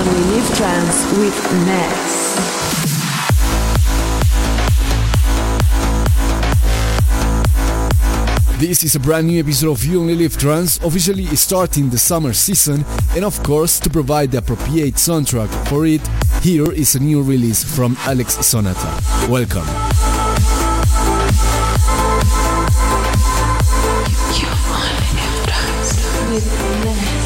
only Live Trance with Ness. This is a brand new episode of You Only Live Trance, officially starting the summer season, and of course, to provide the appropriate soundtrack for it, here is a new release from Alex Sonata. Welcome. You only live trance with Ness.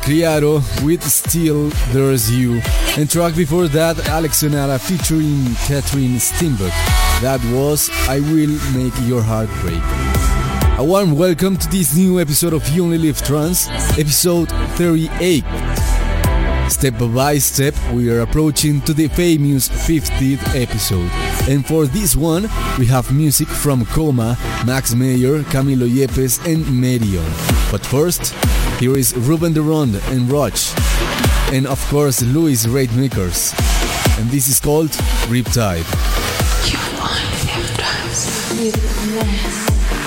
Criado with Still There's You, and track before that Alex Sonata featuring Catherine Steinberg. That was I Will Make Your Heart Break. A warm welcome to this new episode of You Only Live Trance, episode 38. Step by step, we are approaching to the famous 50th episode. And for this one, we have music from Coma, Max Mayer, Camilo Yepes, and Merion. But first, here is Ruben de Ronde and Roach. And of course, Louis Raidmakers. And this is called Riptide. You only live trance with Ness.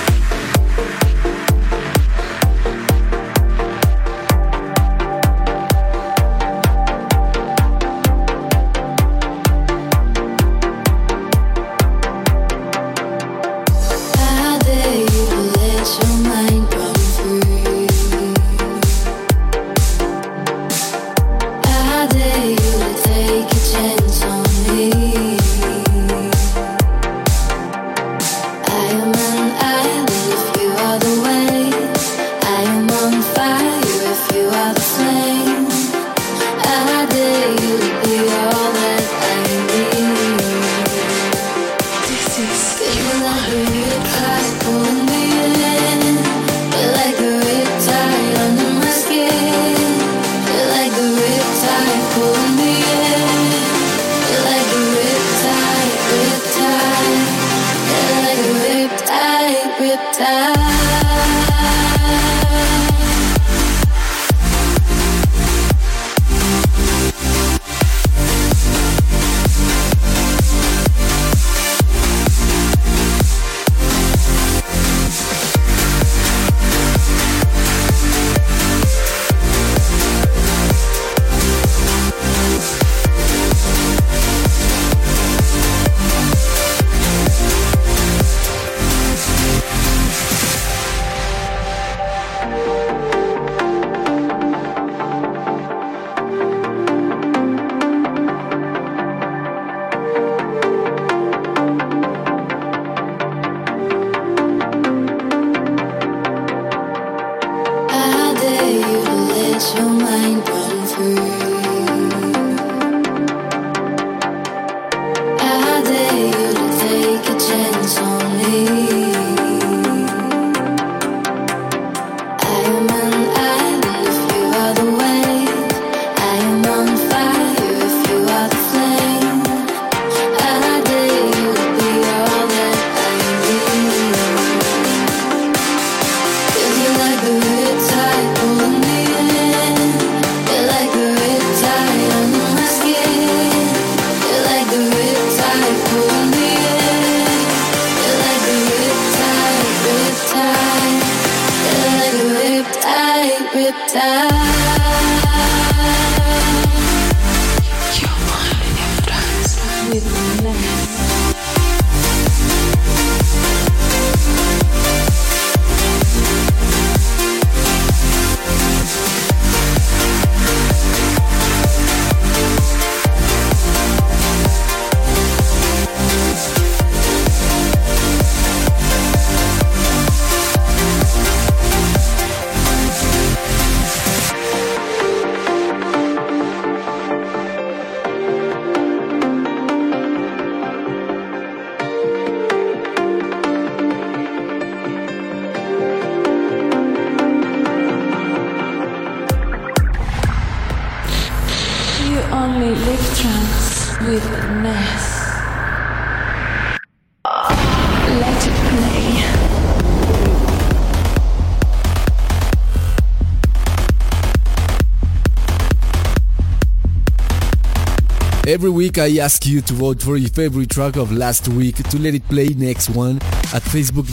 Every week I ask you to vote for your favorite track of last week to let it play next one at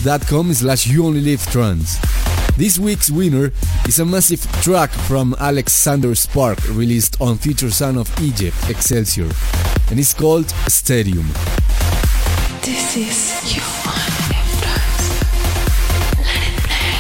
facebook.com/youonlylivetrance. This week's winner is a massive track from Alexander Spark released on Future Son of Egypt, Excelsior, and it's called Stadium. This is You Only Live Trance. Let it play.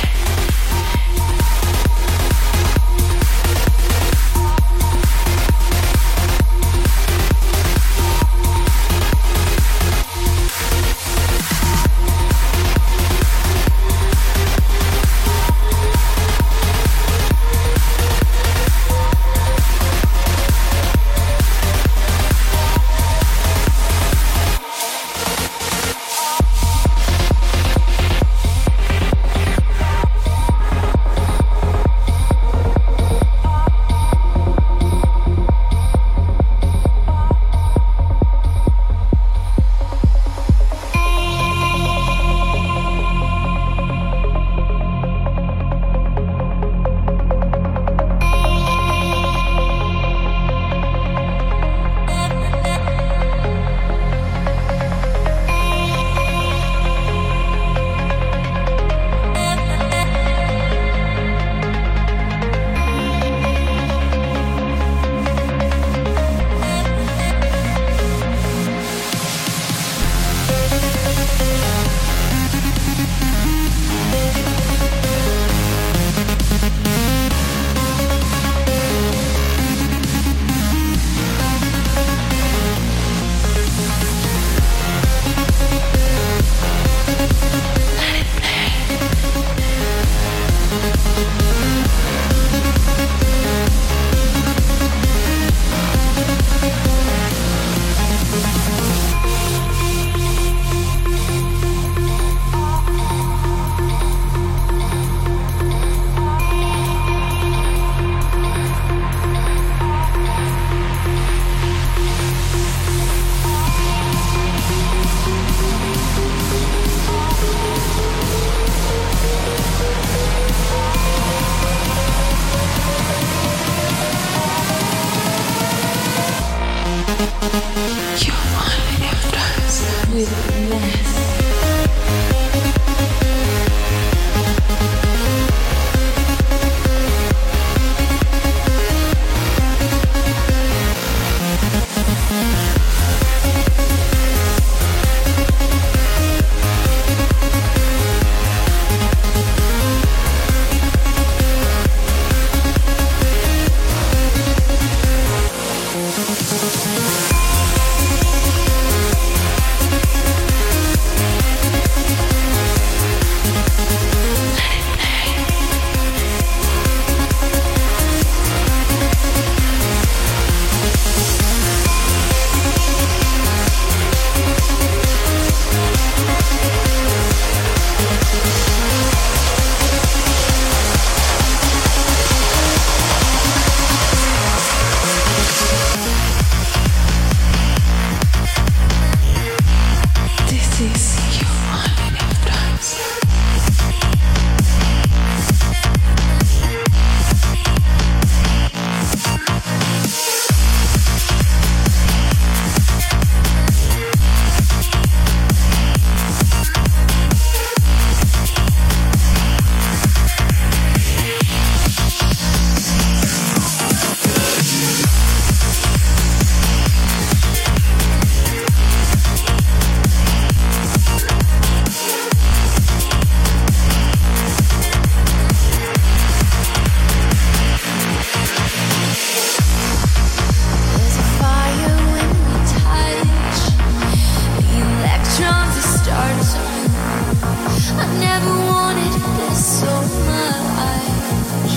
I never wanted this so much.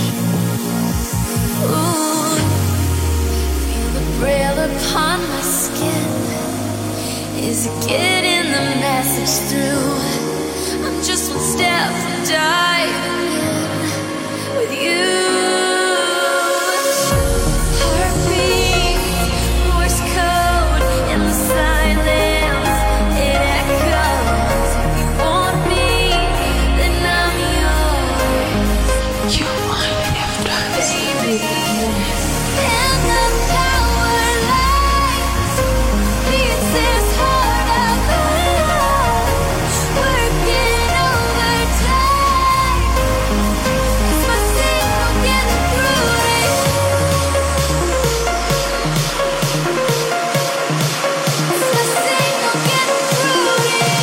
Ooh, feel the braille upon my skin. Is it getting the message through? I'm just one step from diving in with you. Heartbeat, Morse code in the silence. It echoes. If you want me, then I'm yours. You want it, Baby. And the power lines beats this heart of ours, working overtime. It's my signal getting through to you. It's my signal getting through to you.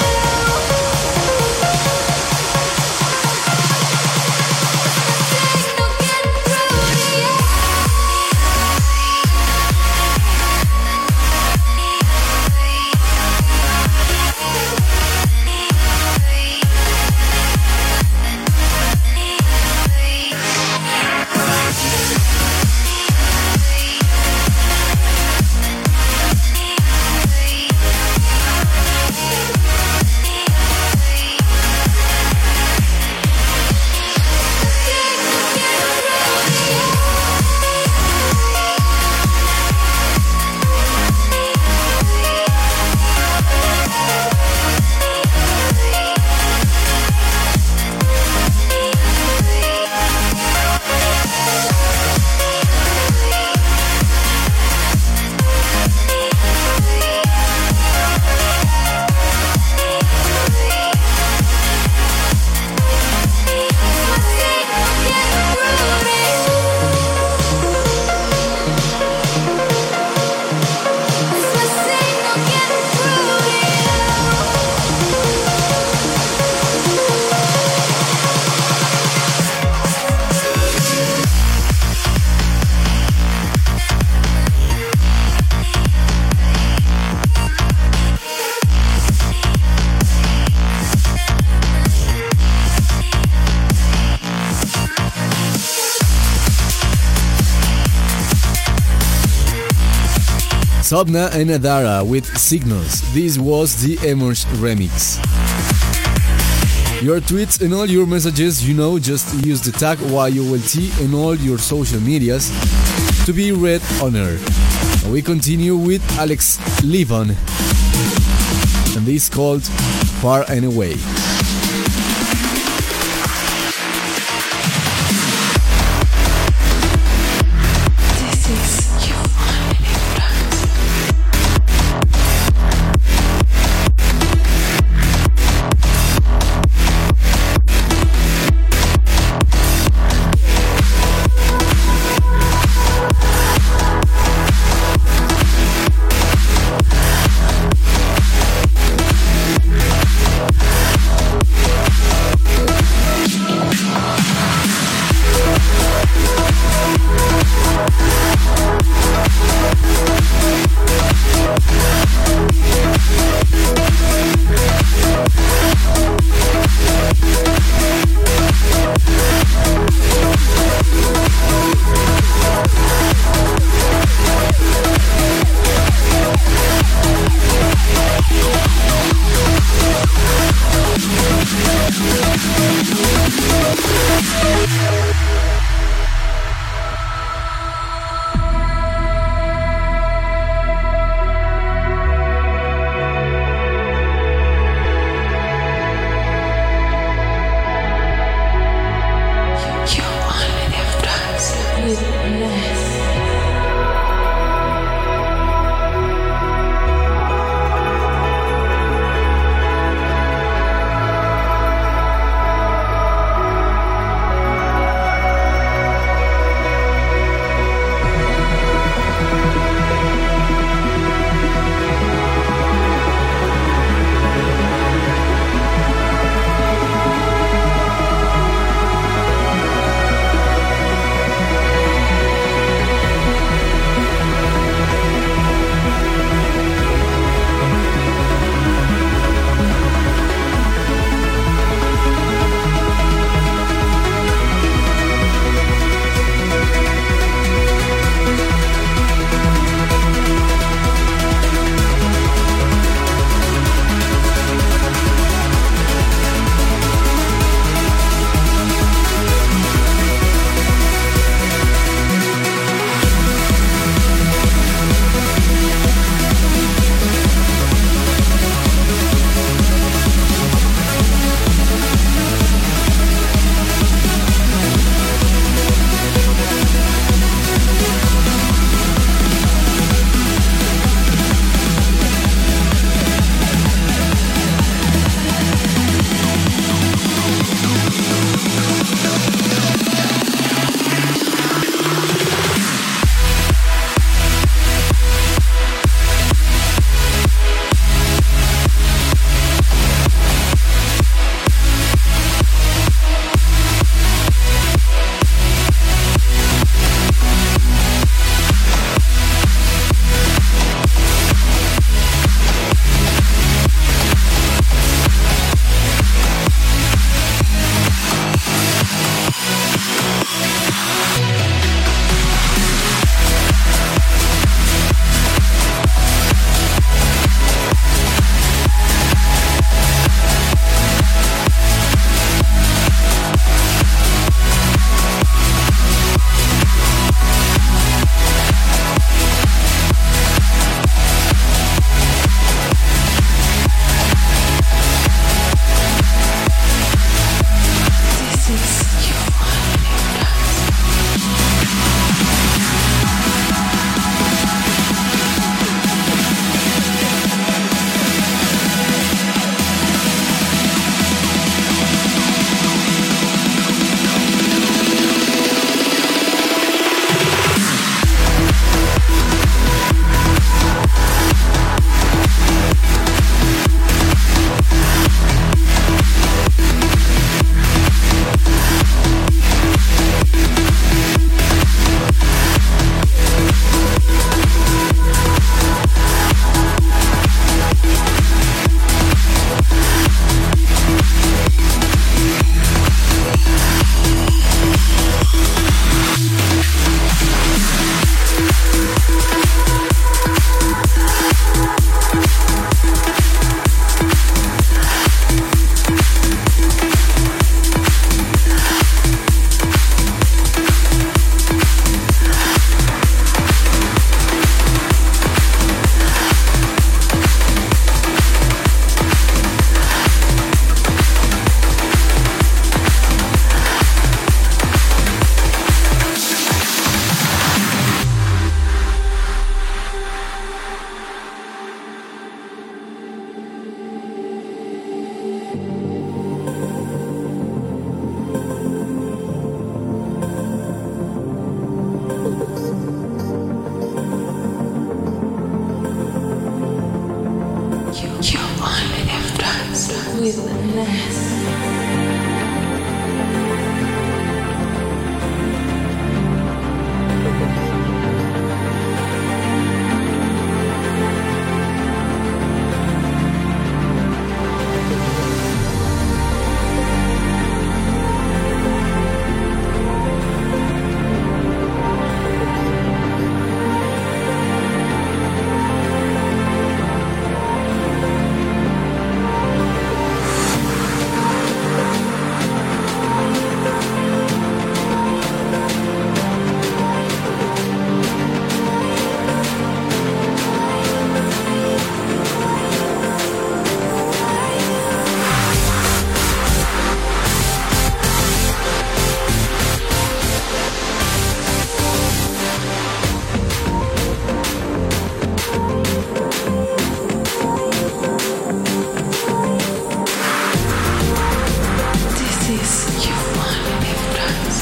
Signal getting through to you. Sobna and Adara with Signals. This was the Emerge remix. Your tweets and all your messages, just use the tag YOLT in all your social medias to be read on air. And we continue with Alex Levon, and this called Far and Away. This is you want it, is you wanna live trance.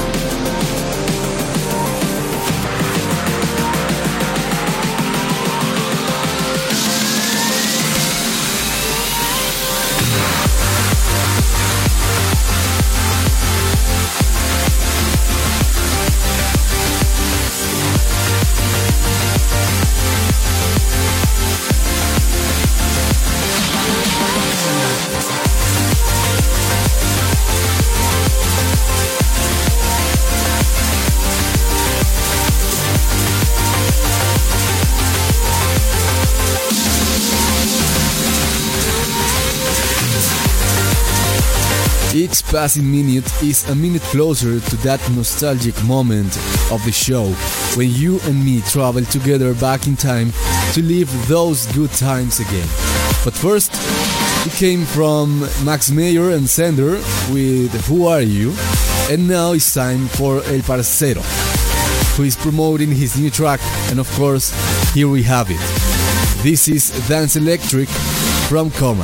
Each passing minute is a minute closer to that nostalgic moment of the show when you and me travel together back in time to live those good times again. But first, it came from Max Mayer and Sender with Who Are You? And now it's time for El Parcero, who is promoting his new track, and of course, here we have it. This is Dance Electric from Coma.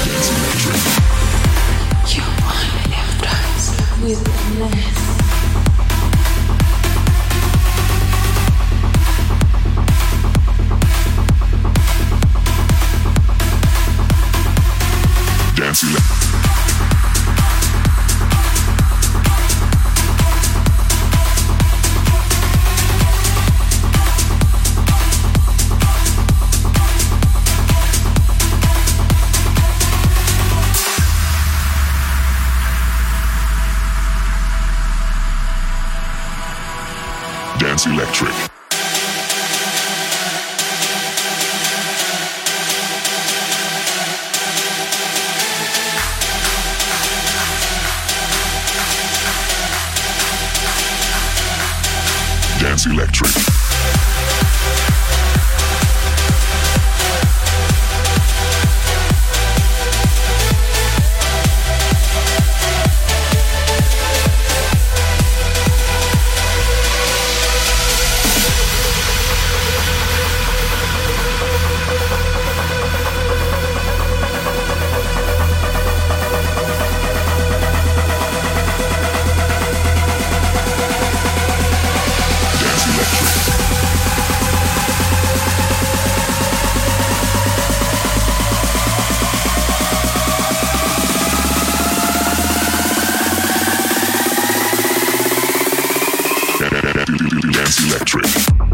With less. Dance Electric. Dance Electric. Dance Electric.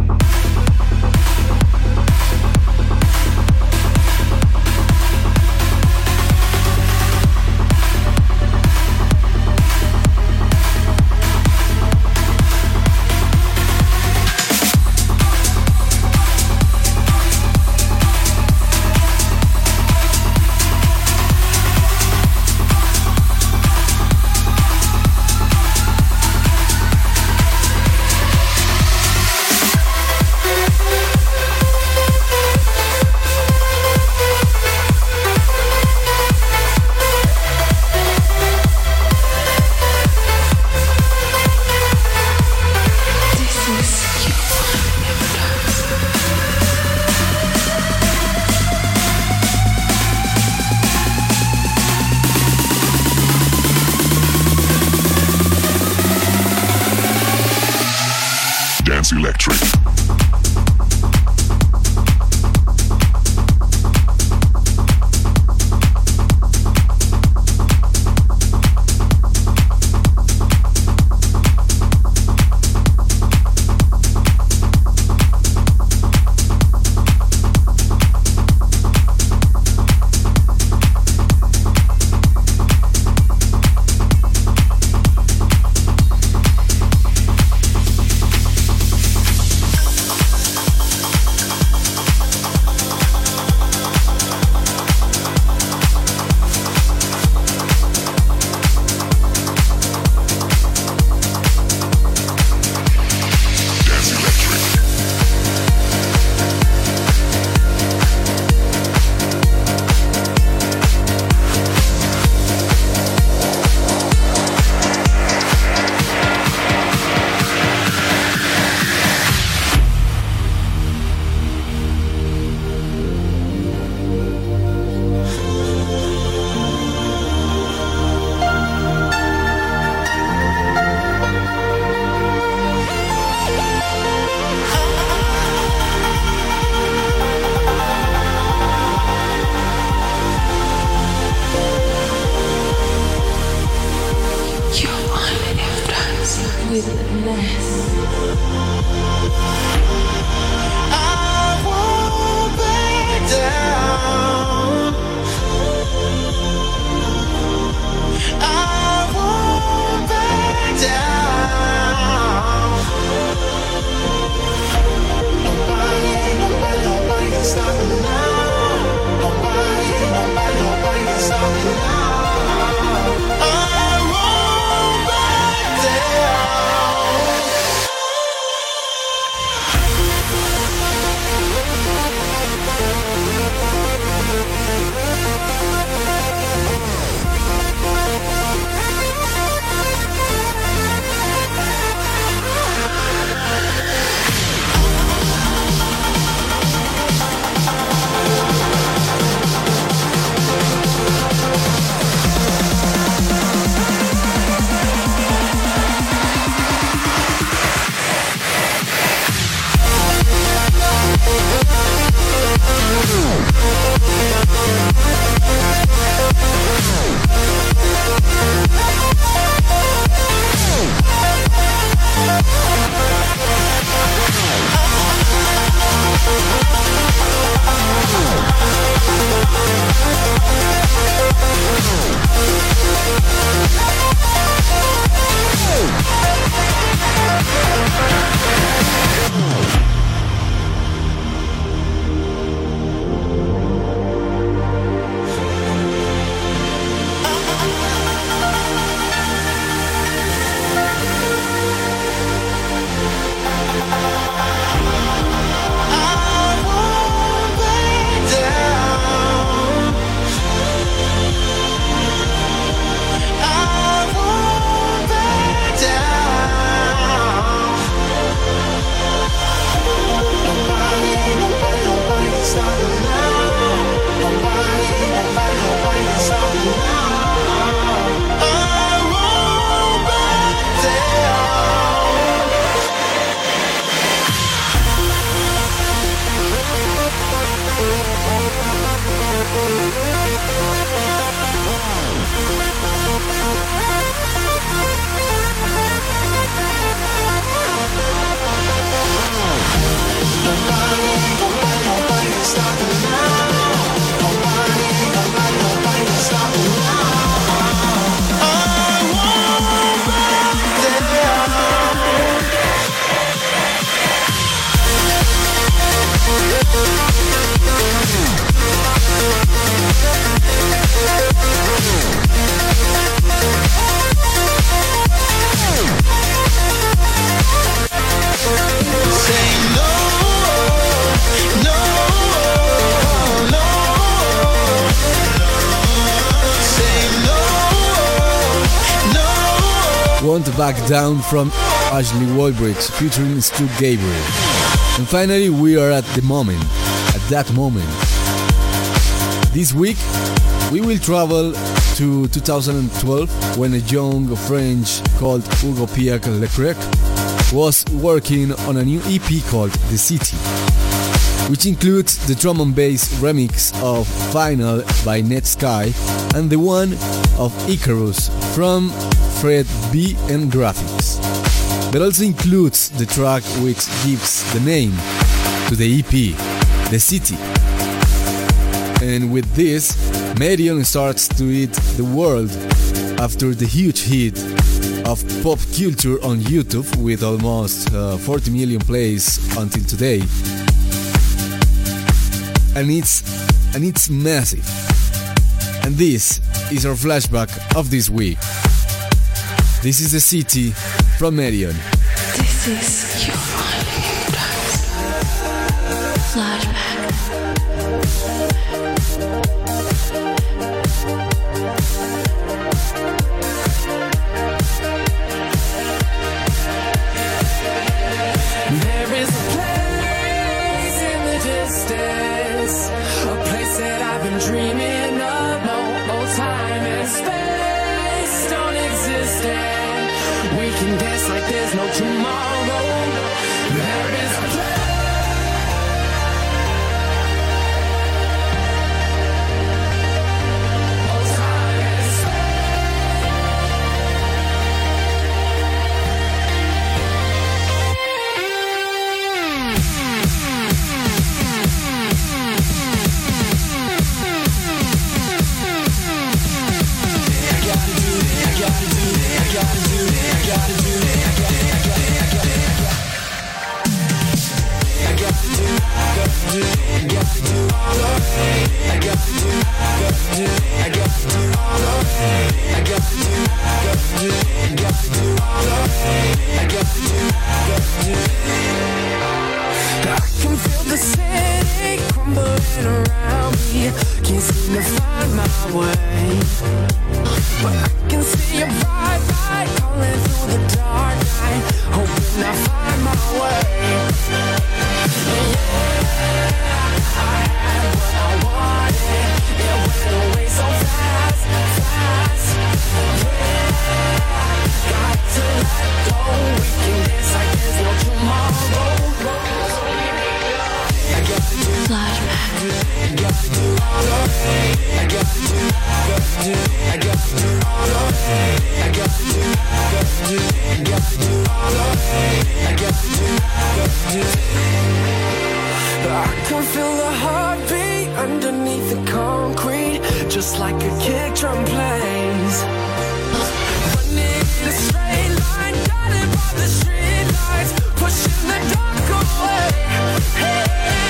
Dance Electric. witness. I won't back down. I won't back down. Nobody can stop me now. Nobody can stop me now. I won't back down. Want to Back Down from Ashley Walbridge featuring Stu Gabriel. And finally we are at that moment. This week we will travel to 2012 when a young French called Hugo Pierre Leclerc was working on a new EP called The City, which includes the drum and bass remix of Final by Netsky and the one of Icarus from Fred B and Graphics, but also includes the track which gives the name to the EP, The City. And with this, Marion starts to eat the world after the huge hit of pop culture on YouTube with almost 40 million plays until today. And it's massive. And this is our flashback of this week. This is The City from Marion. This is your flashback. There is a place in the distance, a place that I've been dreaming of. No time and space don't exist, and we can dance like there's no tomorrow. There is a place. No time and space. I can feel the city crumbling around me. Can't seem to find my way, but I can see your bright light calling through the dark night, hoping I find my way. Yeah, I had what I wanted. It went away so fast, fast. Yeah, got to let go. We can dance like there's no tomorrow. I gotta do flashback. Gotta do all of it. I gotta do, I gotta do all of it. I gotta do, gotta do all of it. I gotta do. I can feel the heartbeat underneath the concrete, just like a kick drum plays. Running in a straight line, guided by the street lights, pushing the dark away. Hey,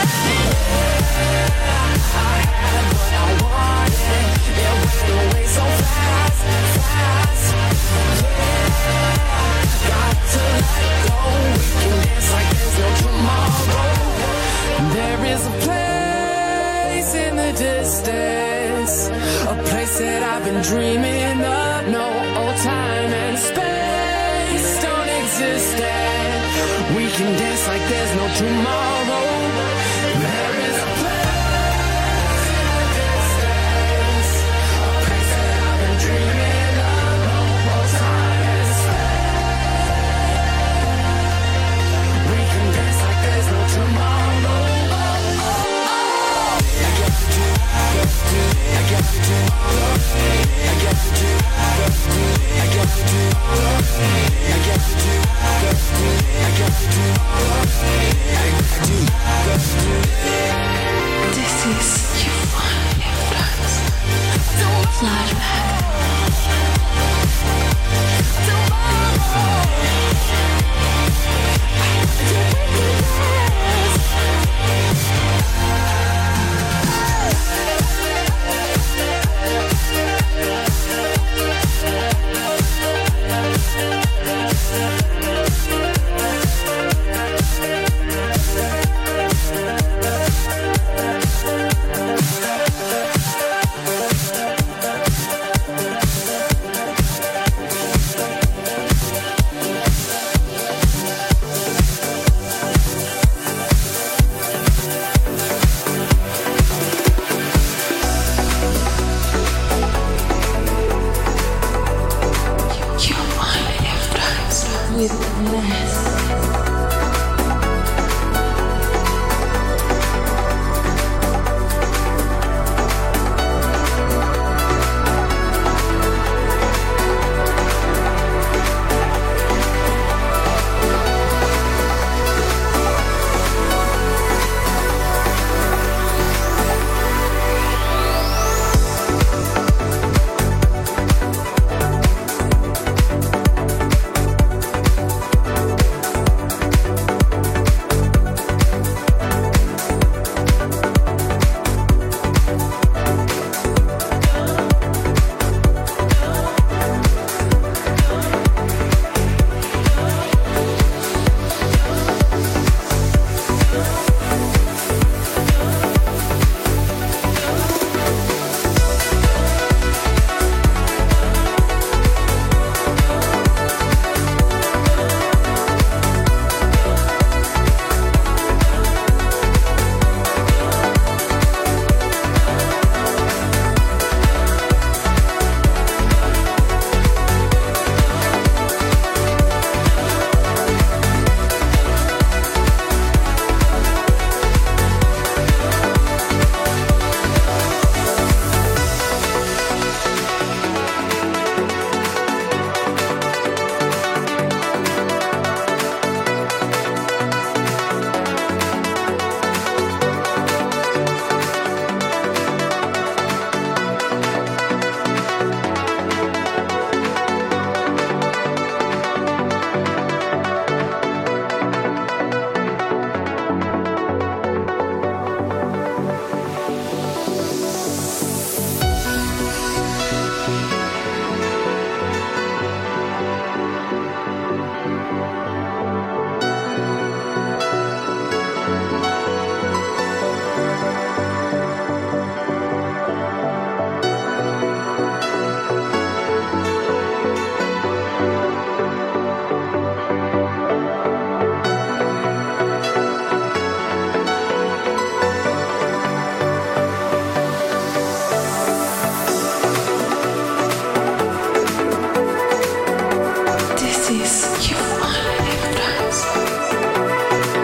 I had what I wanted. It went away so fast, fast. Yeah, got to let go. We can dance like there's no tomorrow. There is a place in the distance, a place that I've been dreaming of. No old time and space don't exist there. We can dance like there's no tomorrow. There is a place in the distance, a place that I've been dreaming of. No old time and space. We can dance like there's no tomorrow. I gotta do all of it. I gotta do, I gotta do all of it. I gotta do, I gotta do all of it. I do. This is your influence. Flashback. is your only trance.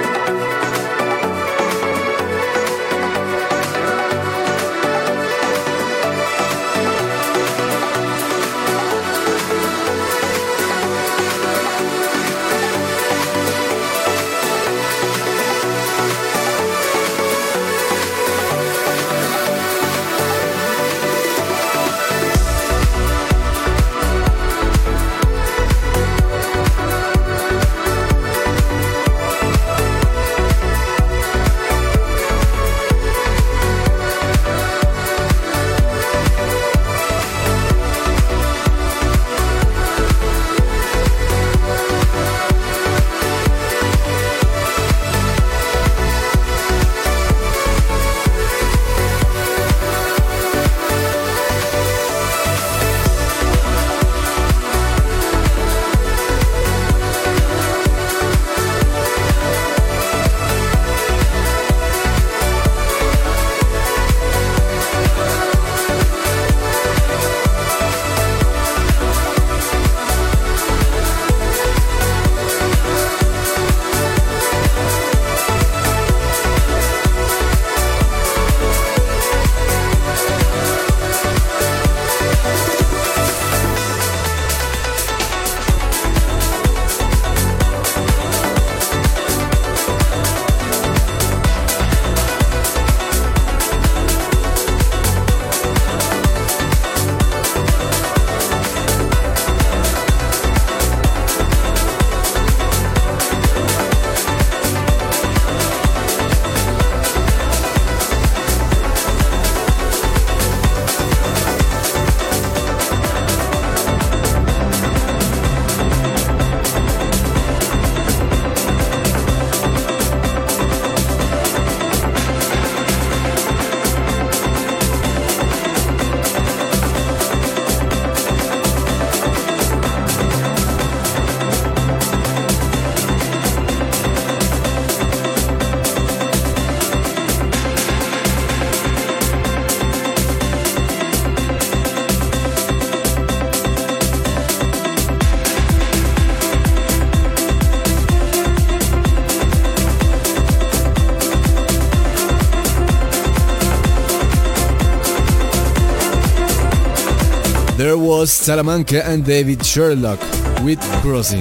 There was Salamanca and David Sherlock with Crossing.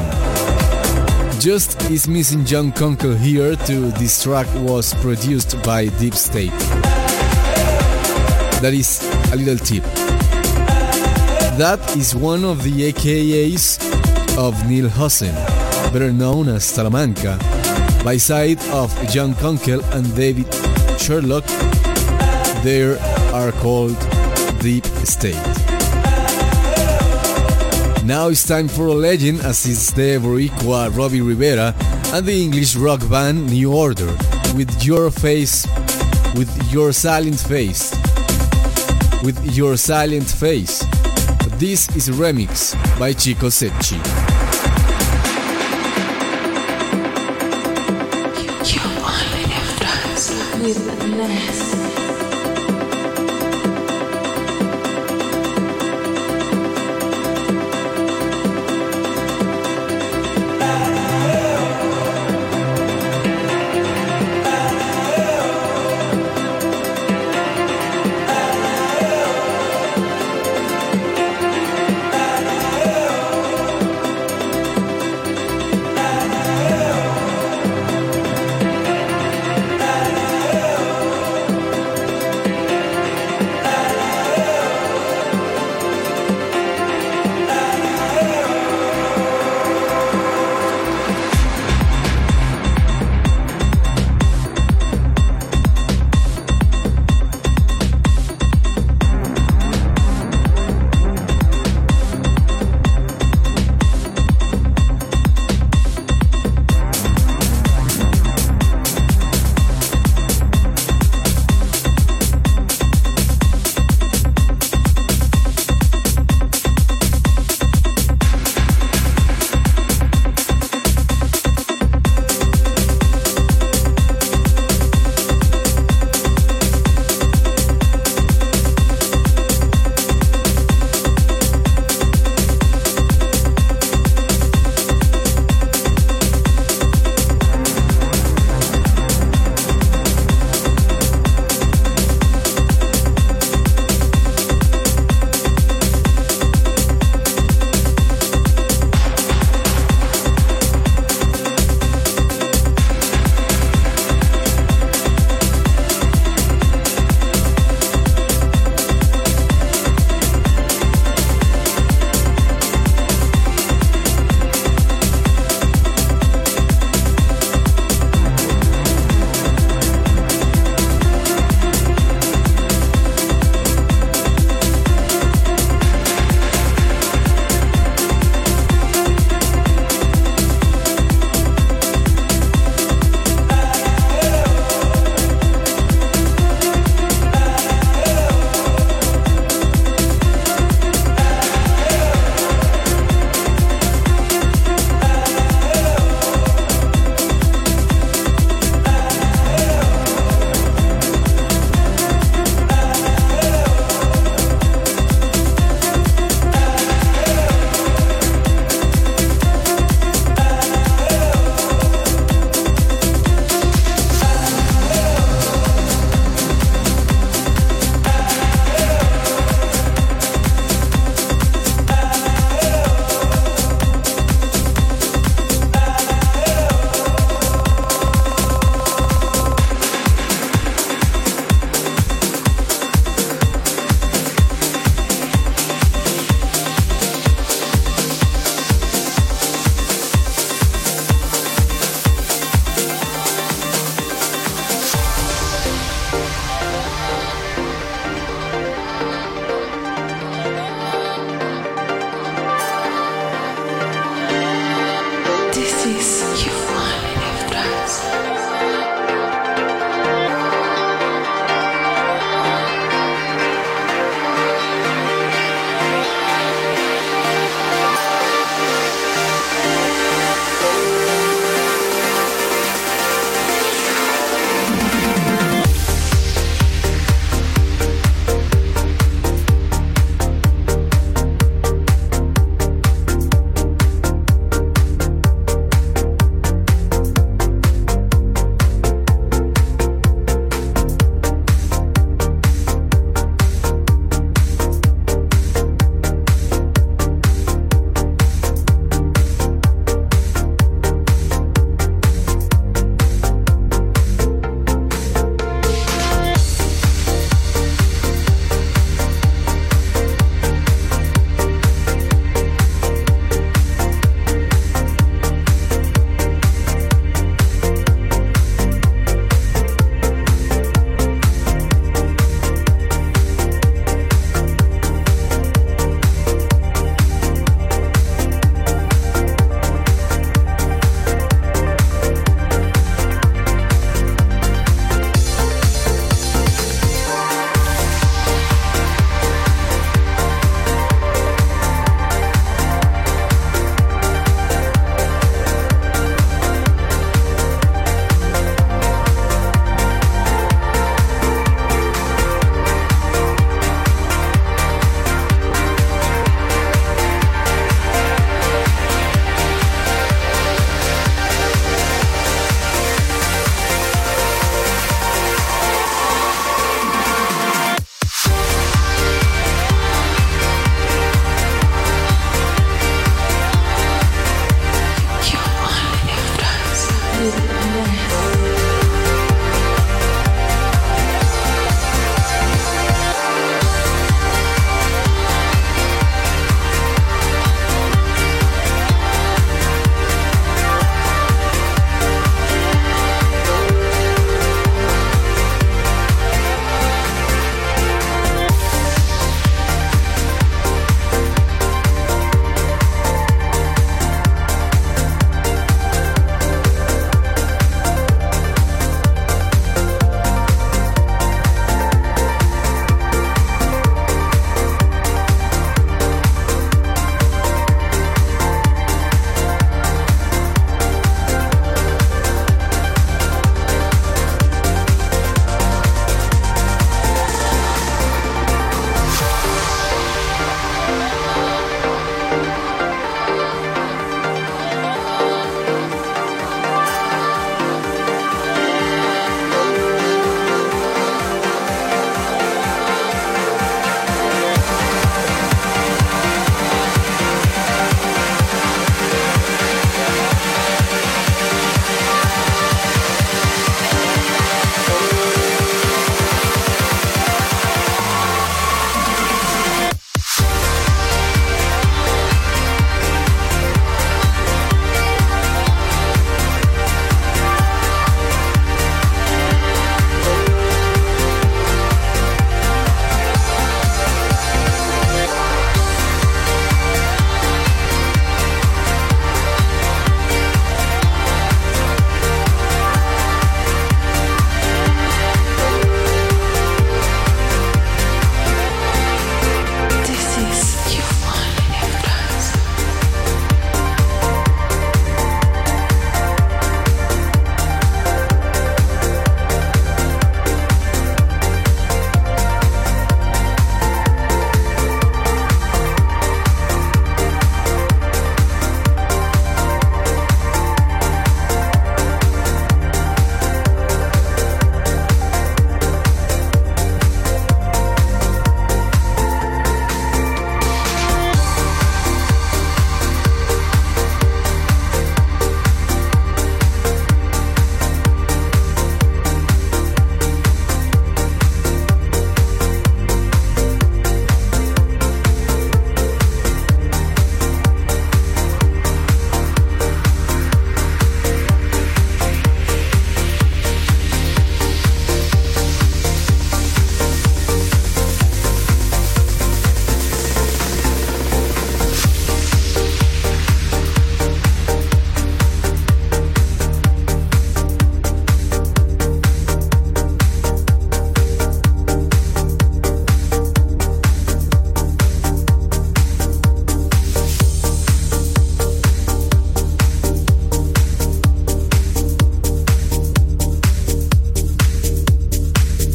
Just is missing John Kunkel here too. This track was produced by Deep State. That is a little tip. That is one of the AKAs of Neil Hussein, better known as Salamanca, by side of John Kunkel and David Sherlock. They are called Deep State. Now it's time for a legend, as it's the Boricua Robbie Rivera and the English rock band New Order with Your Face, with Your Silent Face, with Your Silent Face. This is a remix by Chico Secchi. You only have trance with Ness.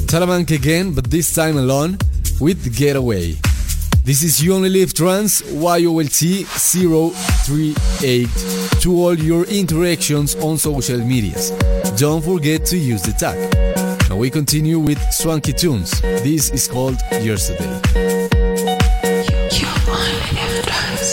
Talamanca again, but this time alone with Getaway. This is You Only Live Trance, YOLT 038 to all your interactions on social medias. Don't forget to use the tag. Now we continue with Swanky Tunes. This is called Yesterday. You only live twice.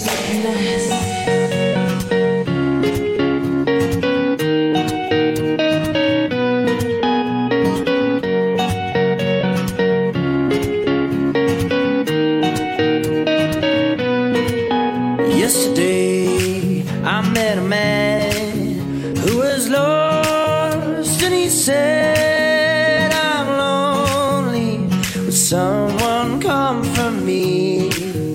Yesterday I met a man who was lost, and he said, I'm lonely, would someone come for me?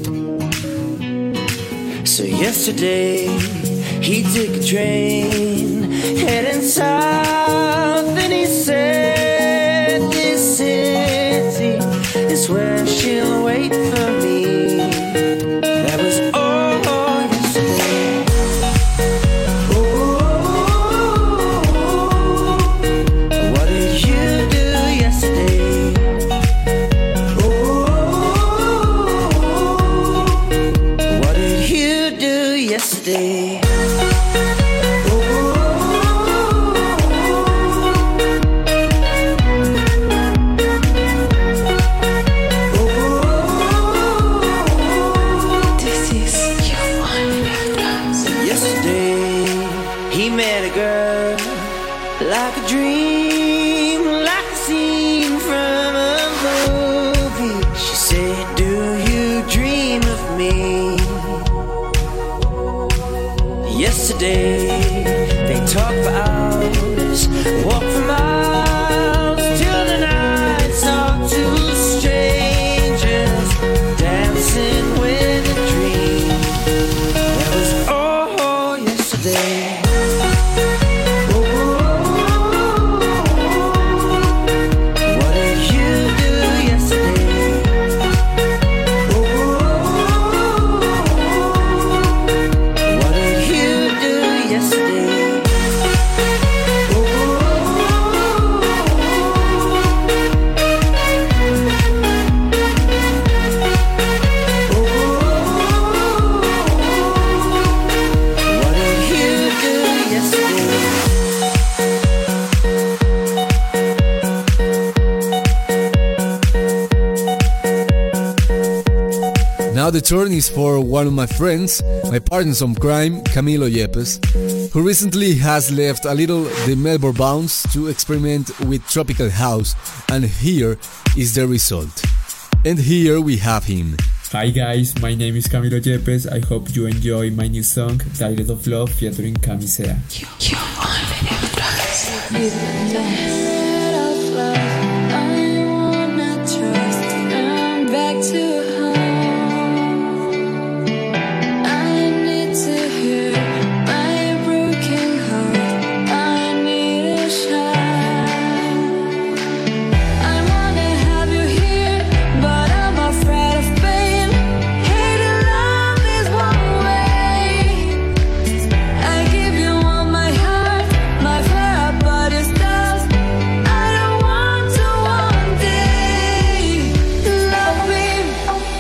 So yesterday he took a train heading south, and he said, this city is where she'll wait for me. That was all yesterday. What did you do yesterday? What did you do yesterday? This is You Only Live Twice. Yesterday he met a girl, like a dream, like a scene from a movie. She said, do you dream of me? Yesterday they talked for hours, walked for miles, till the night talked to strangers, dancing with a dream. That was all yesterday. What did you do yesterday? What did you do yesterday? What did you do yesterday? Now the turn is for one of my friends, my partners on crime, Camilo Yepes, who recently has left a little the Melbourne bounce to experiment with tropical house, and here is the result. And here we have him. Hi guys, my name is Camilo Yepes. I hope you enjoy my new song, Dialect of Love, featuring Camisea. You only live twice. I give you all my heart, my fire, but it's dust. I don't want to one day love me.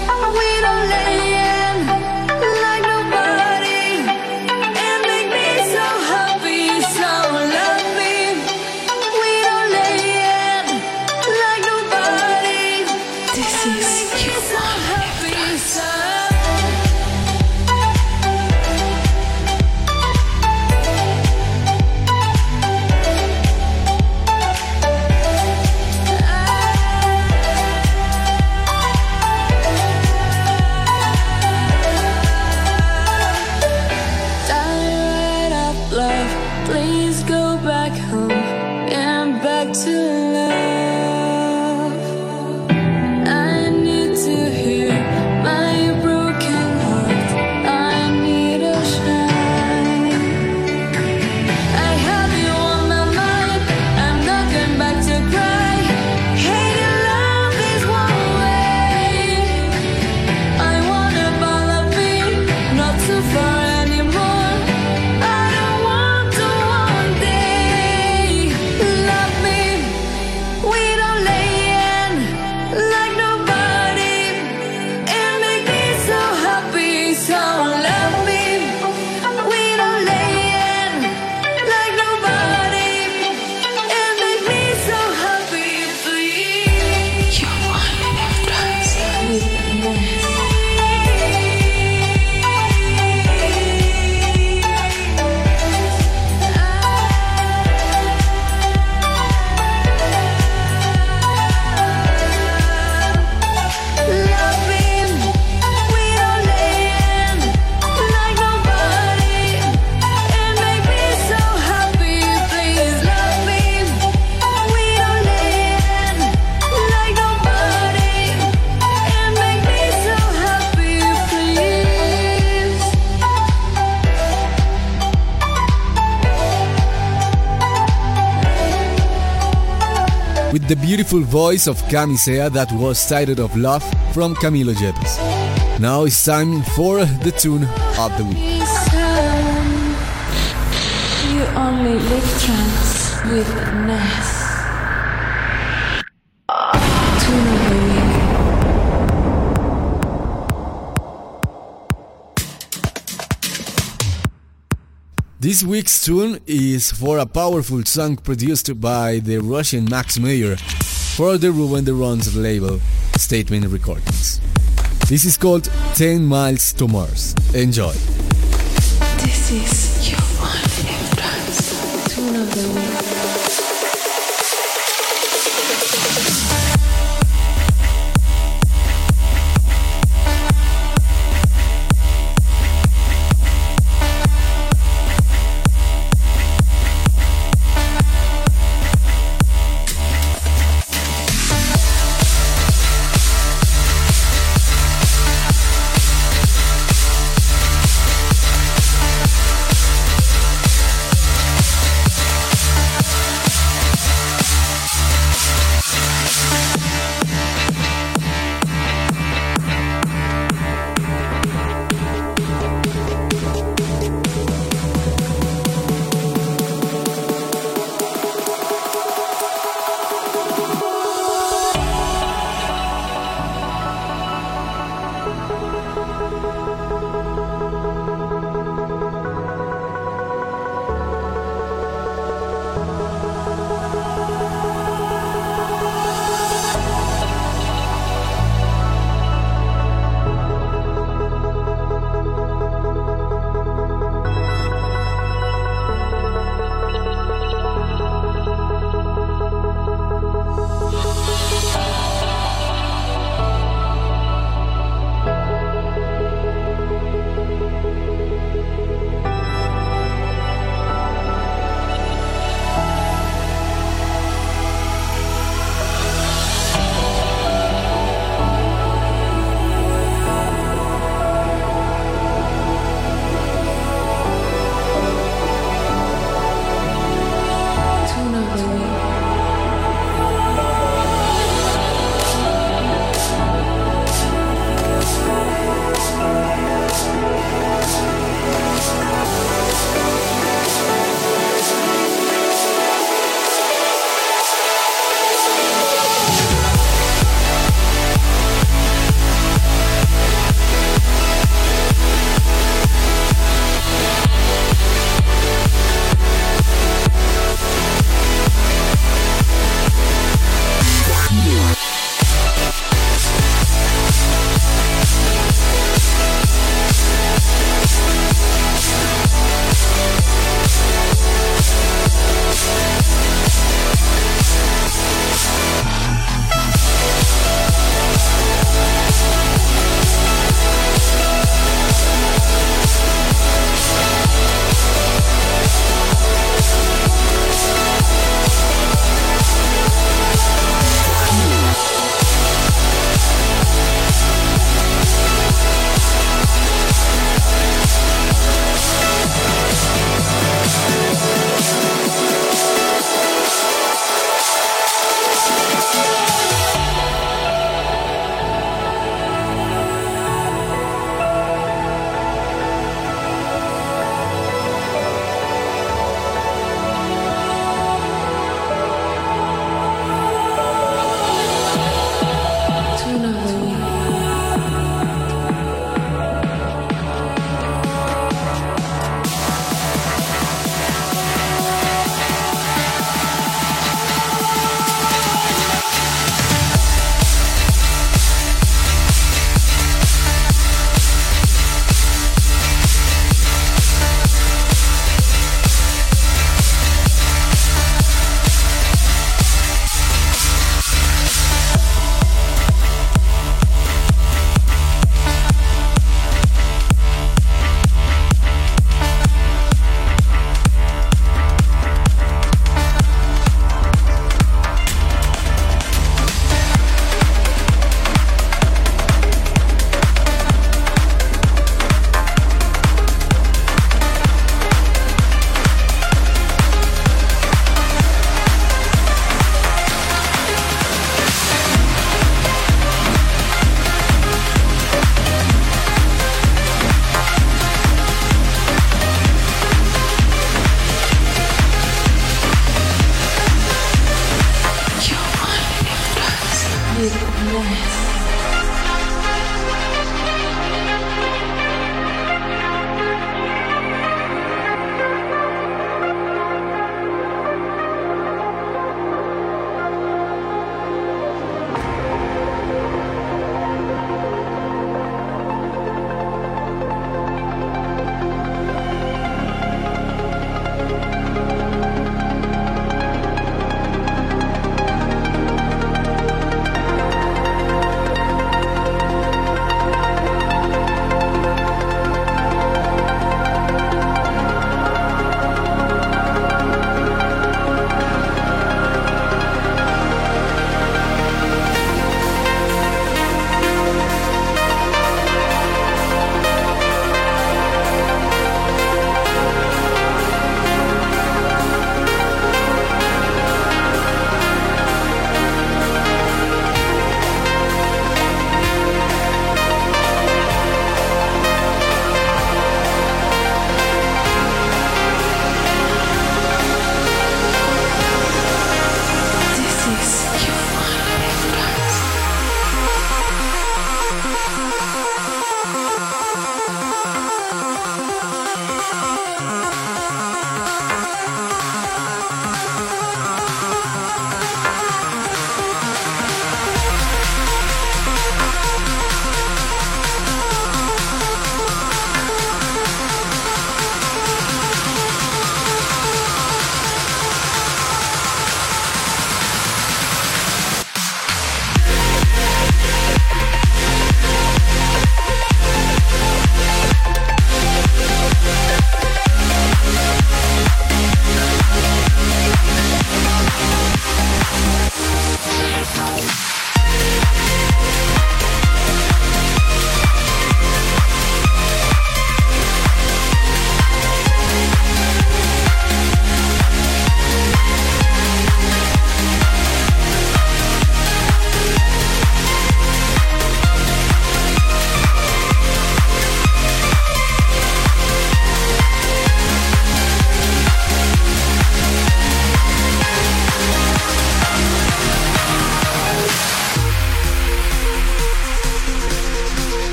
with the beautiful voice of Camisea that was titled of Love from Camilo Yepes. Now it's time for the tune of the week. You only live trance with Ness. Tune of the week. This week's tune is for a powerful song produced by the Russian Max Mayer for the Ruben de Ron's label, Statement Recordings. This is called 10 Miles to Mars. Enjoy. This is your only live trance. Tune of the week.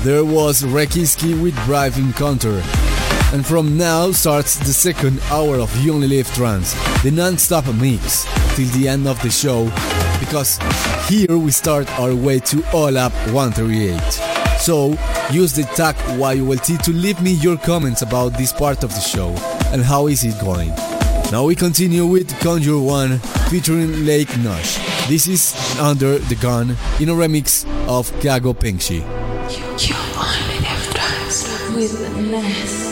There was Rekiski with Brave Encounter. And from now starts the second hour of You Only Live Trance, the non-stop mix till the end of the show, because here we start our way to All Up 138. So use the tag YOLT to leave me your comments about this part of the show and how is it going. Now we continue with Conjure One featuring Lake Nosh. This is Under the Gun in a remix of Kago Pengshi. You only live trance with Ness.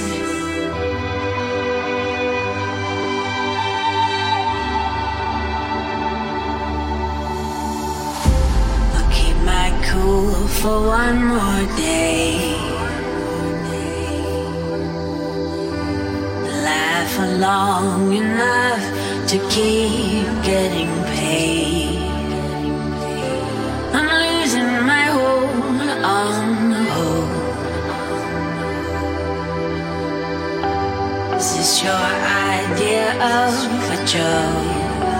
I'll keep my cool for one more day. Laugh long enough to keep getting paid. I'm losing my hold on the hope. Is this your idea of a joke?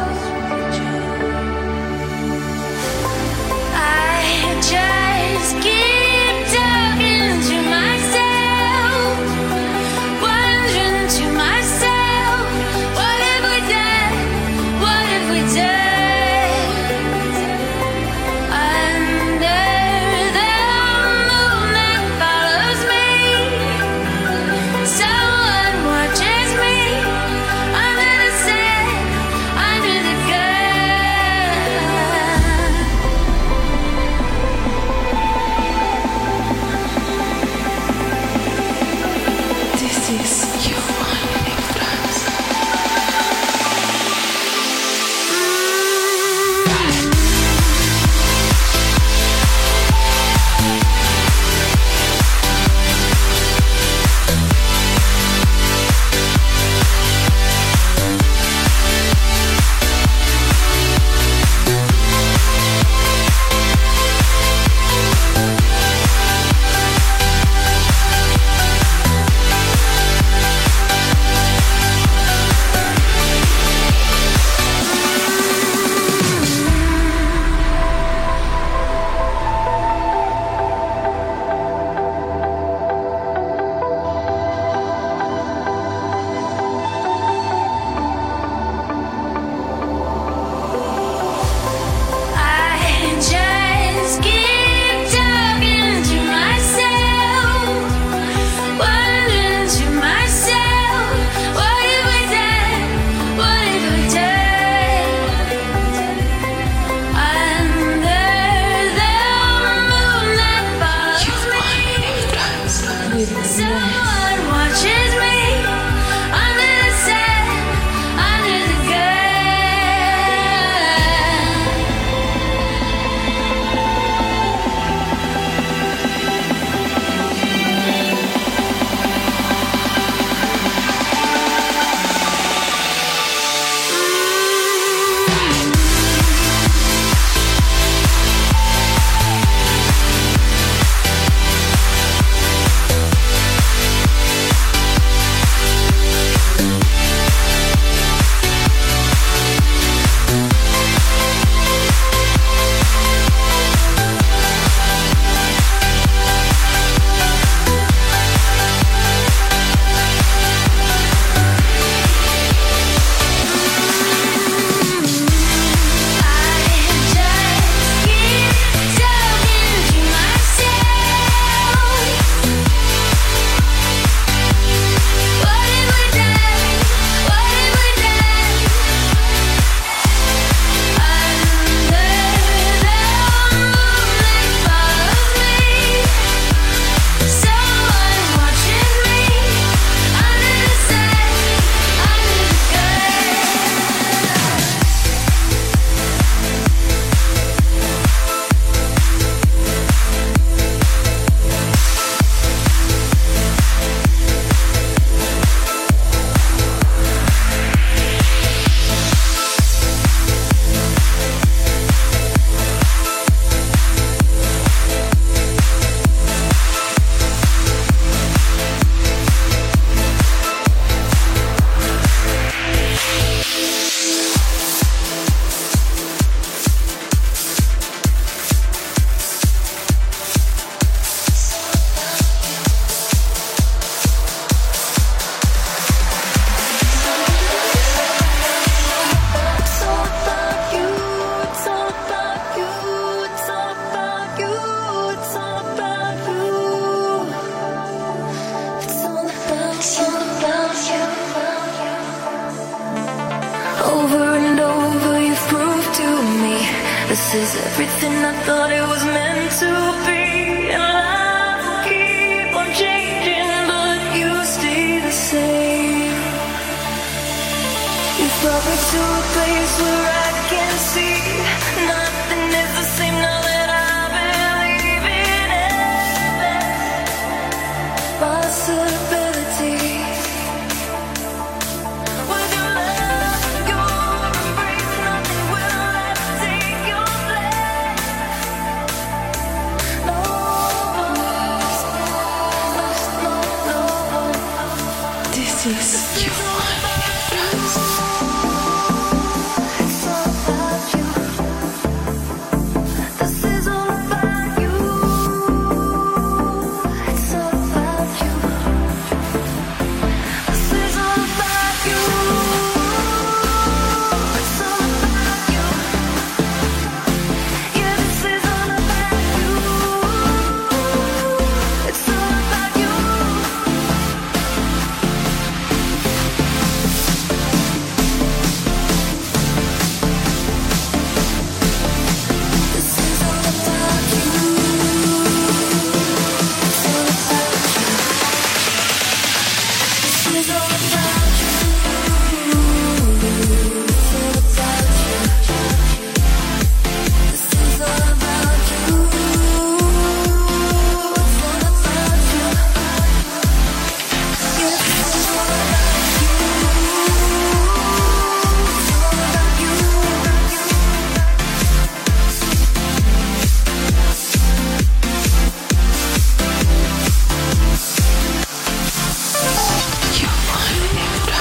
I just keep talking to myself, wondering to myself, what have we done? What have we done? Under the moon that follows me, someone watches me under the sand, under the gun. This is You Only Live Trance. Over and over you've proved to me this is everything I thought it was meant to be. And life will keep on changing, but you stay the same. You've brought me to a place where I can see nothing is the same now that I believe in endless possibilities. With your love, your embrace, nothing will ever take your place. No one. This is your one entrance. It's all about you. This is all about you. It's all about you. This is all about you. It's all about you. Yeah, this is all about you. It's all about you. This is all about you. It's all about you. This is all about you. It's all about you. This is all about you. It's all about you. Yeah, this is all about you. It's all about you. Your one entrance.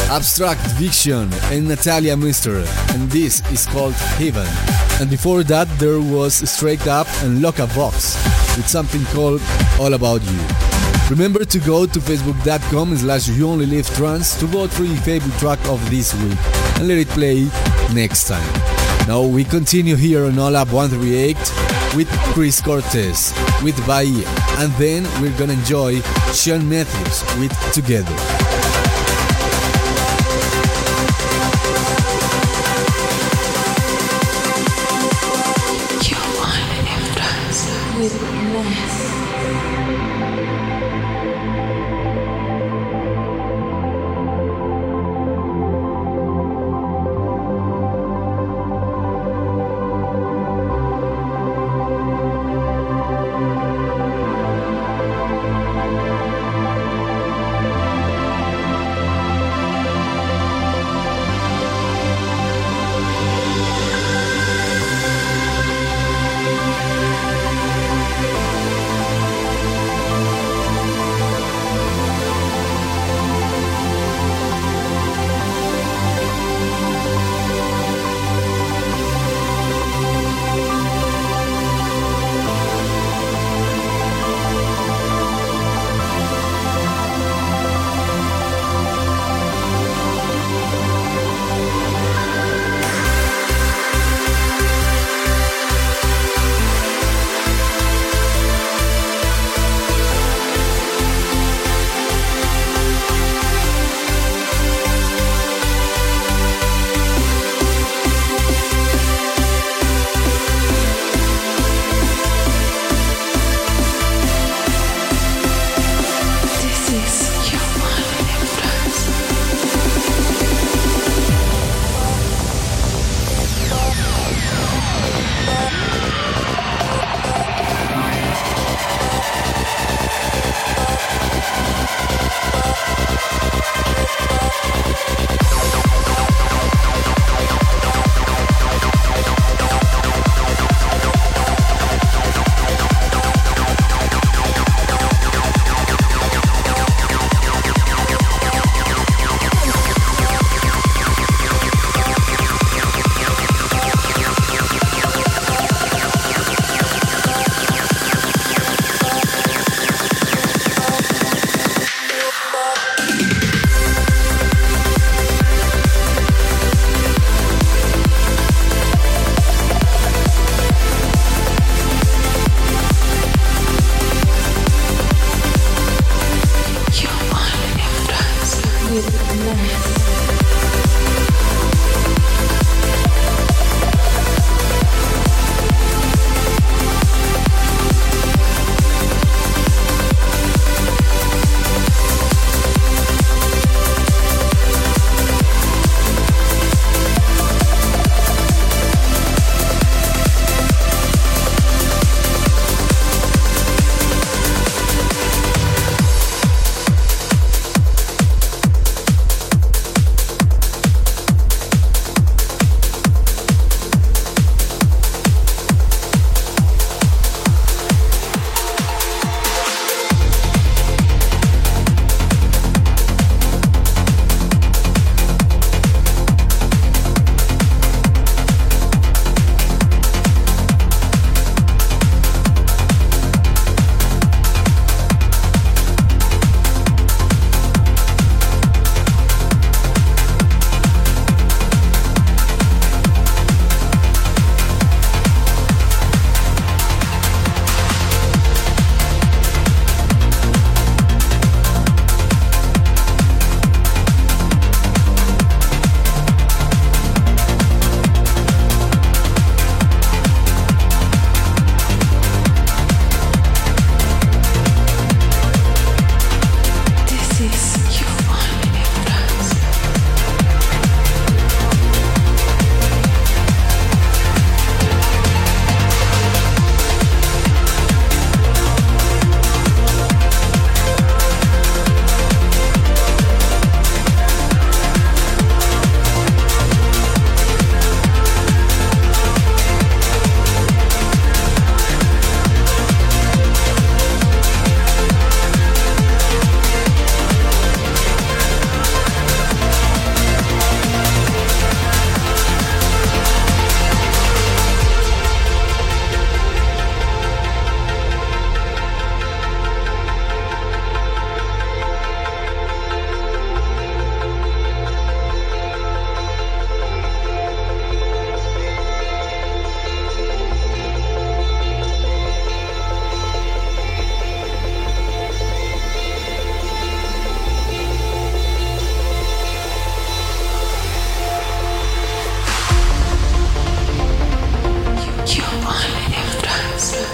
Abstract Viction and Natalia Mister, and this is called Heaven. And before that there was Straight Up and Loca Vox with something called All About You. Remember to go to facebook.com/YouOnlyLiveTrance to vote for your favorite track of this week and let it play next time. Now we continue here on All Up 138 with Chris Cortez with Bahia, and then we're gonna enjoy Sean Matthews with Together. With less.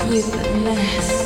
with the mask.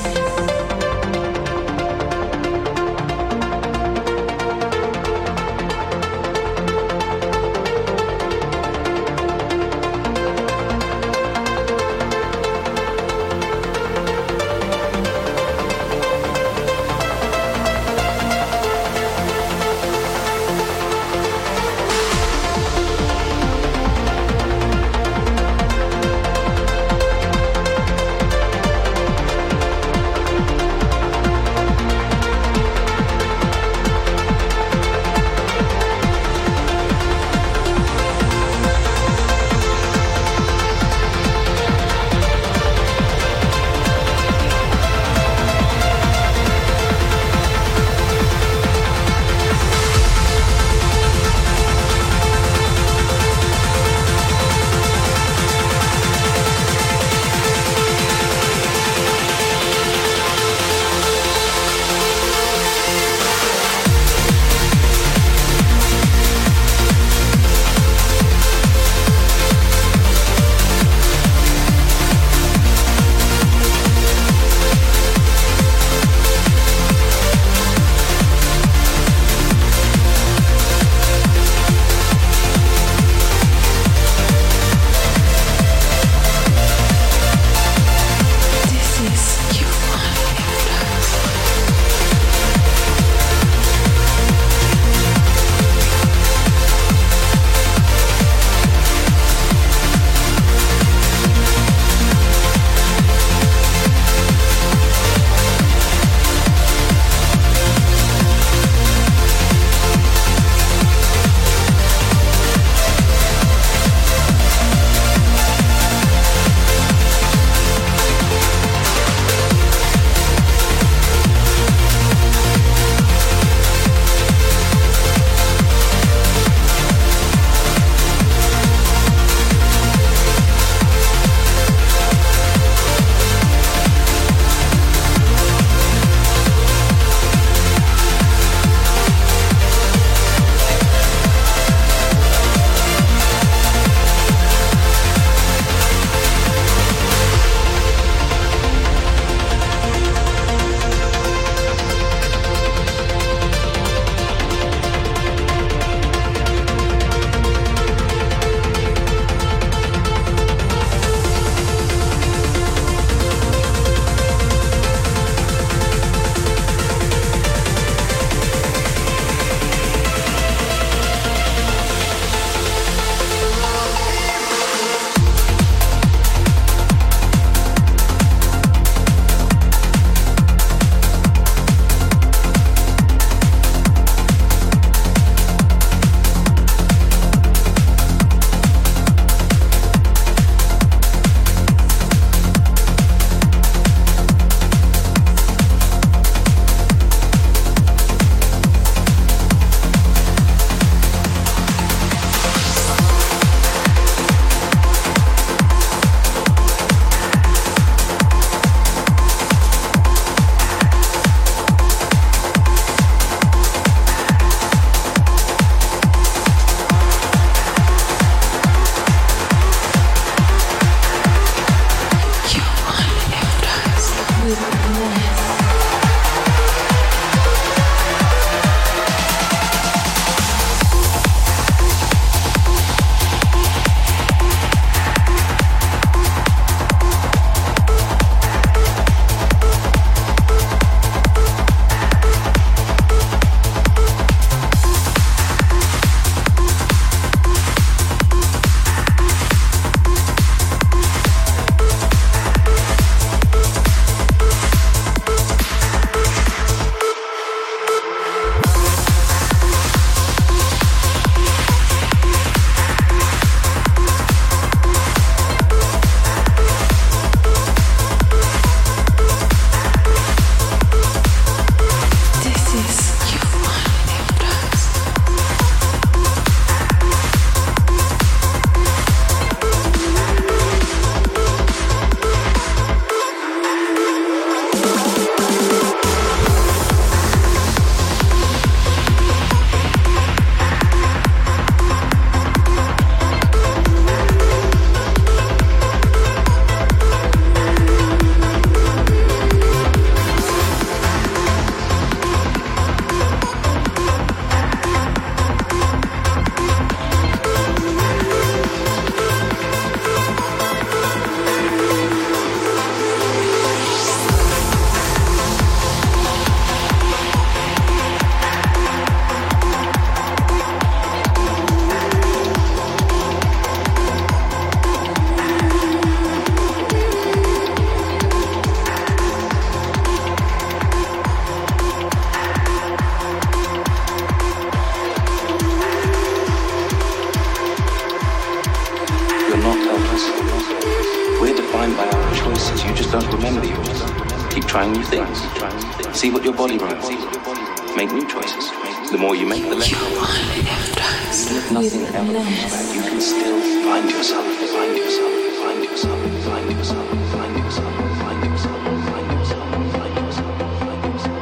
choices. You just don't remember yours. Keep trying new things. See what your body runs. Make new choices. The more you make, the less. You only live twice. Even if nothing ever comes back, you can still find yourself. Find yourself. Find yourself. Find yourself. Find yourself. Find yourself. Find yourself. Find yourself. Find yourself.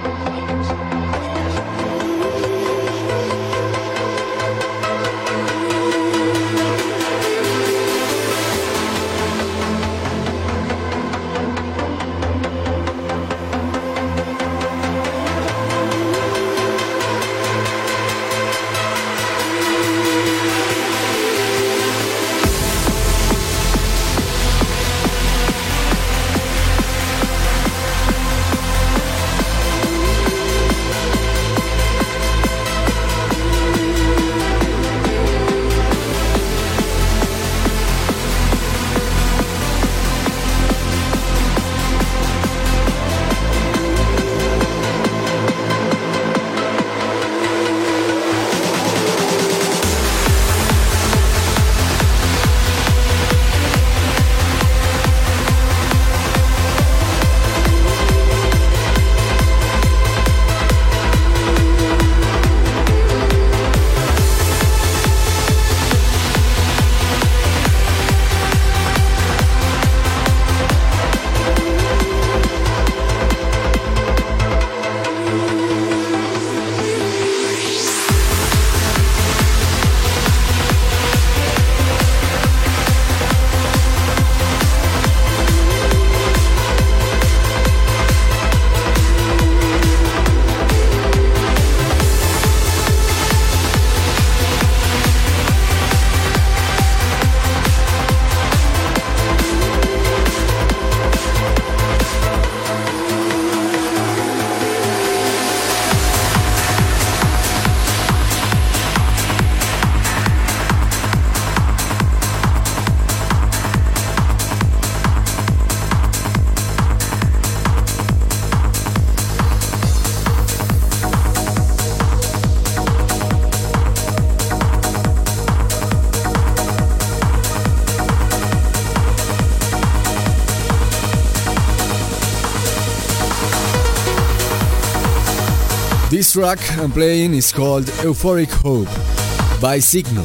This track I'm playing is called Euphoric Hope by Signal.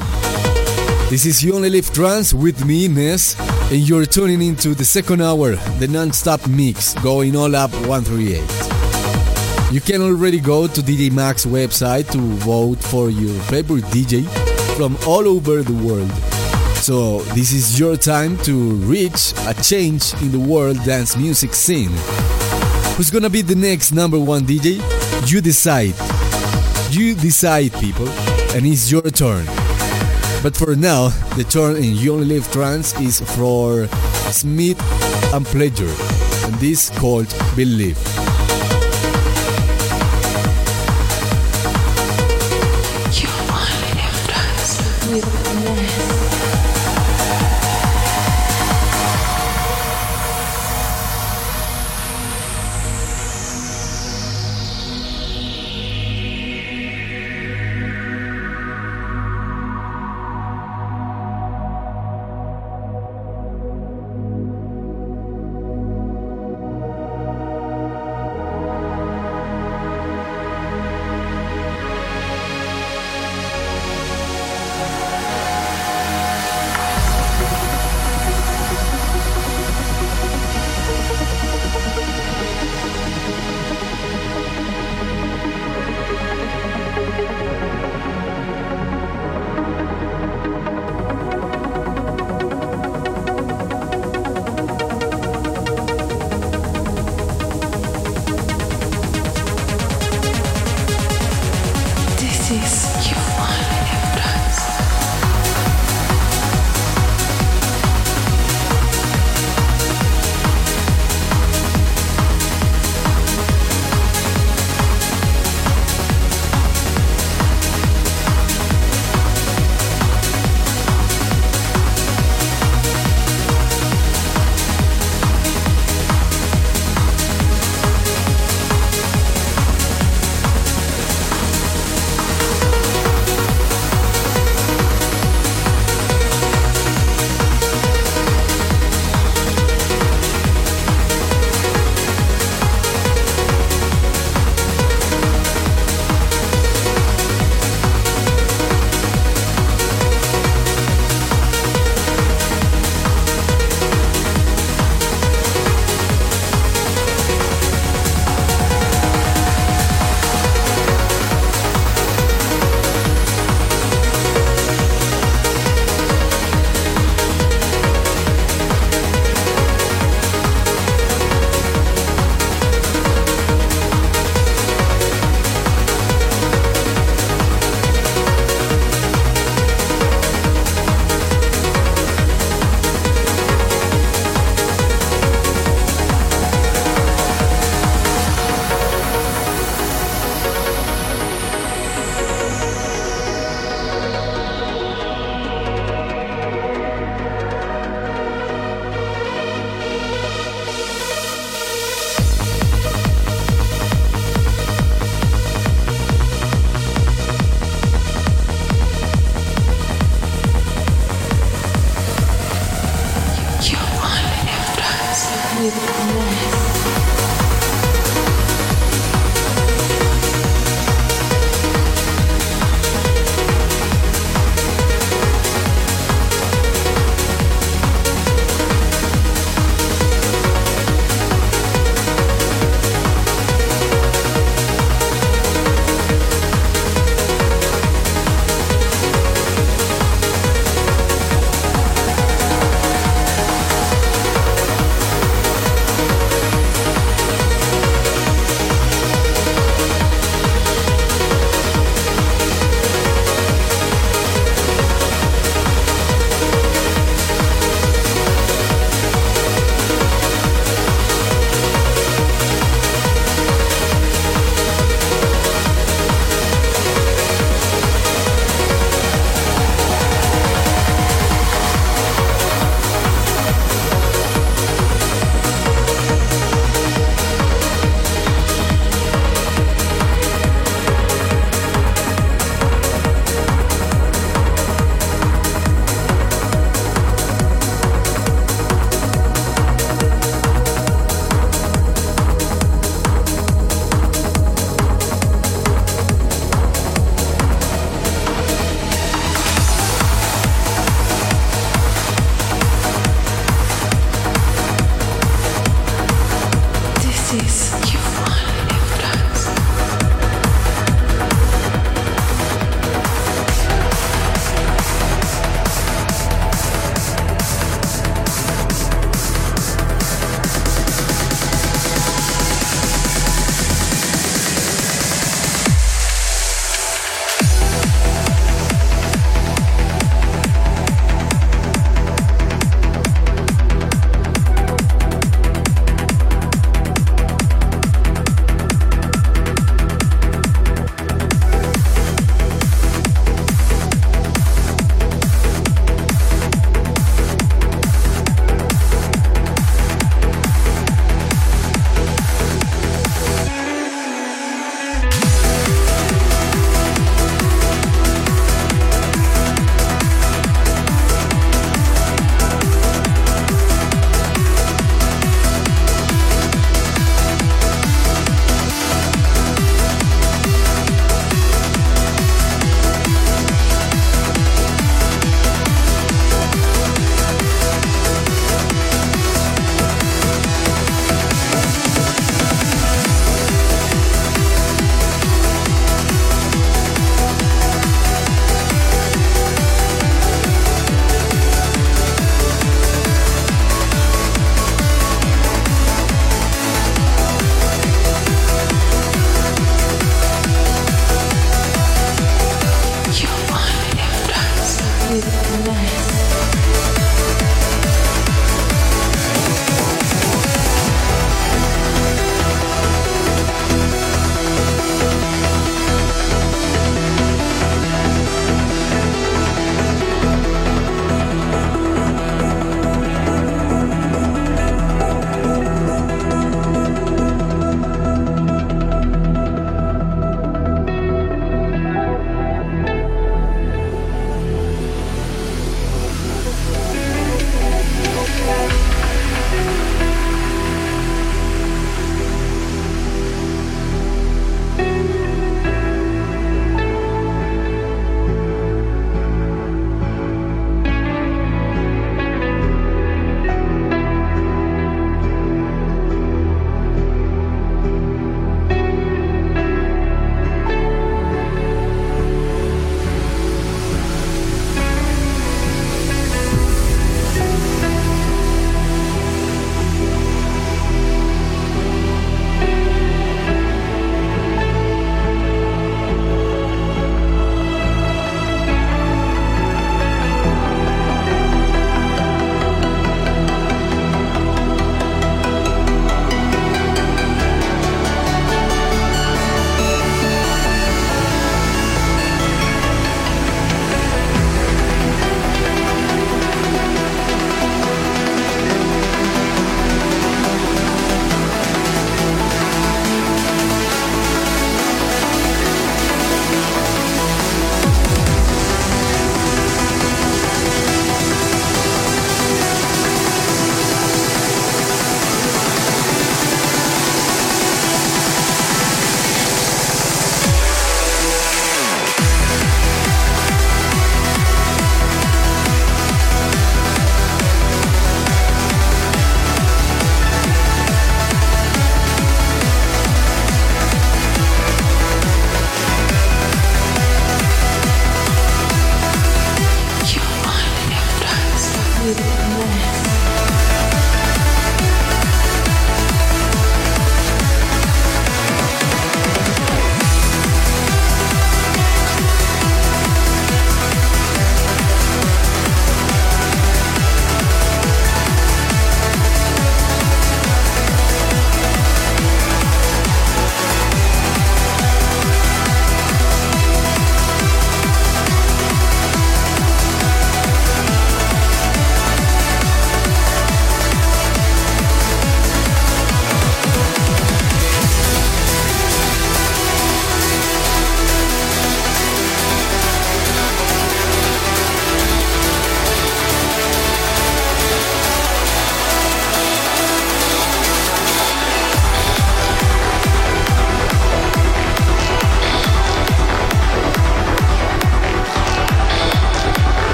This is You Only Live Trance with me, Ness, and you're tuning into the second hour, the non-stop mix, going all up 138. You can already go to DJ Mag's website to vote for your favorite DJ from all over the world. So this is your time to reach a change in the world dance music scene. Who's gonna be the next number one DJ? You decide. You decide, people, and it's your turn. But for now, the turn in You Only Live Trance is for Smith and Pleasure, and this called Believe. You only live twice with Ness.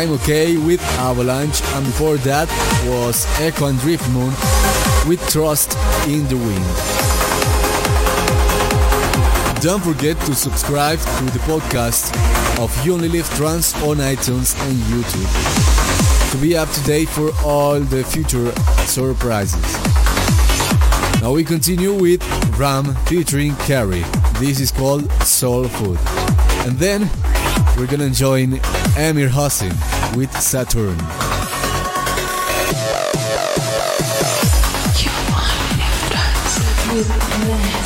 Time OK with Avalanche, and before that was Echo and Drift Moon with Trust in the Wind. Don't forget to subscribe to the podcast of You Only Live Trance on iTunes and YouTube to be up to date for all the future surprises. Now we continue with Ram featuring Carrie. This is called Soul Food. And then we're gonna join Amir Hossein with Saturn. You only live trance with bliss.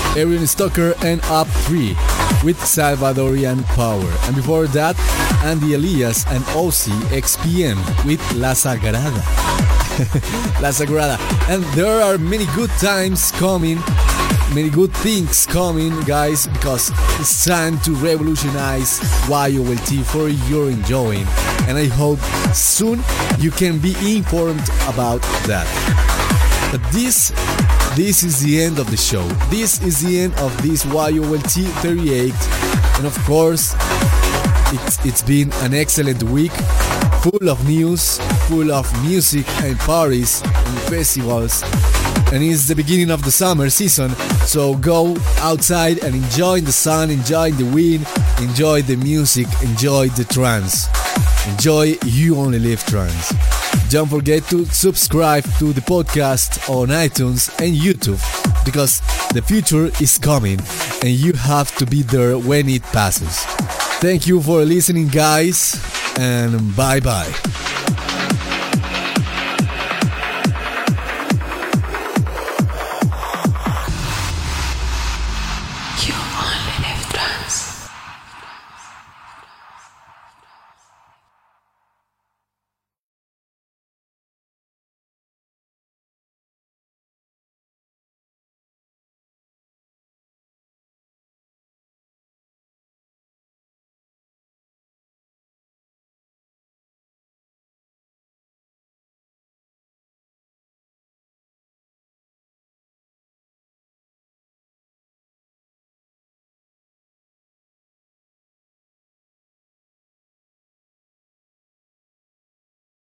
Arian Stoker and Up 3 with Salvadorian Power. And before that, Andy Elias and Ozzy XPM with La Sagrada. La Sagrada. And there are many good times coming, many good things coming, guys, because it's time to revolutionize YOLT for your enjoying. And I hope soon you can be informed about that. But this is the end of the show. This is the end of this YOLT 38. And of course, it's been an excellent week, full of news, full of music and parties and festivals. And it's the beginning of the summer season, so go outside and enjoy the sun, enjoy the wind, enjoy the music, enjoy the trance. Enjoy You Only Live Trance. Don't forget to subscribe to the podcast on iTunes and YouTube, because the future is coming and you have to be there when it passes. Thank you for listening, guys, and bye bye.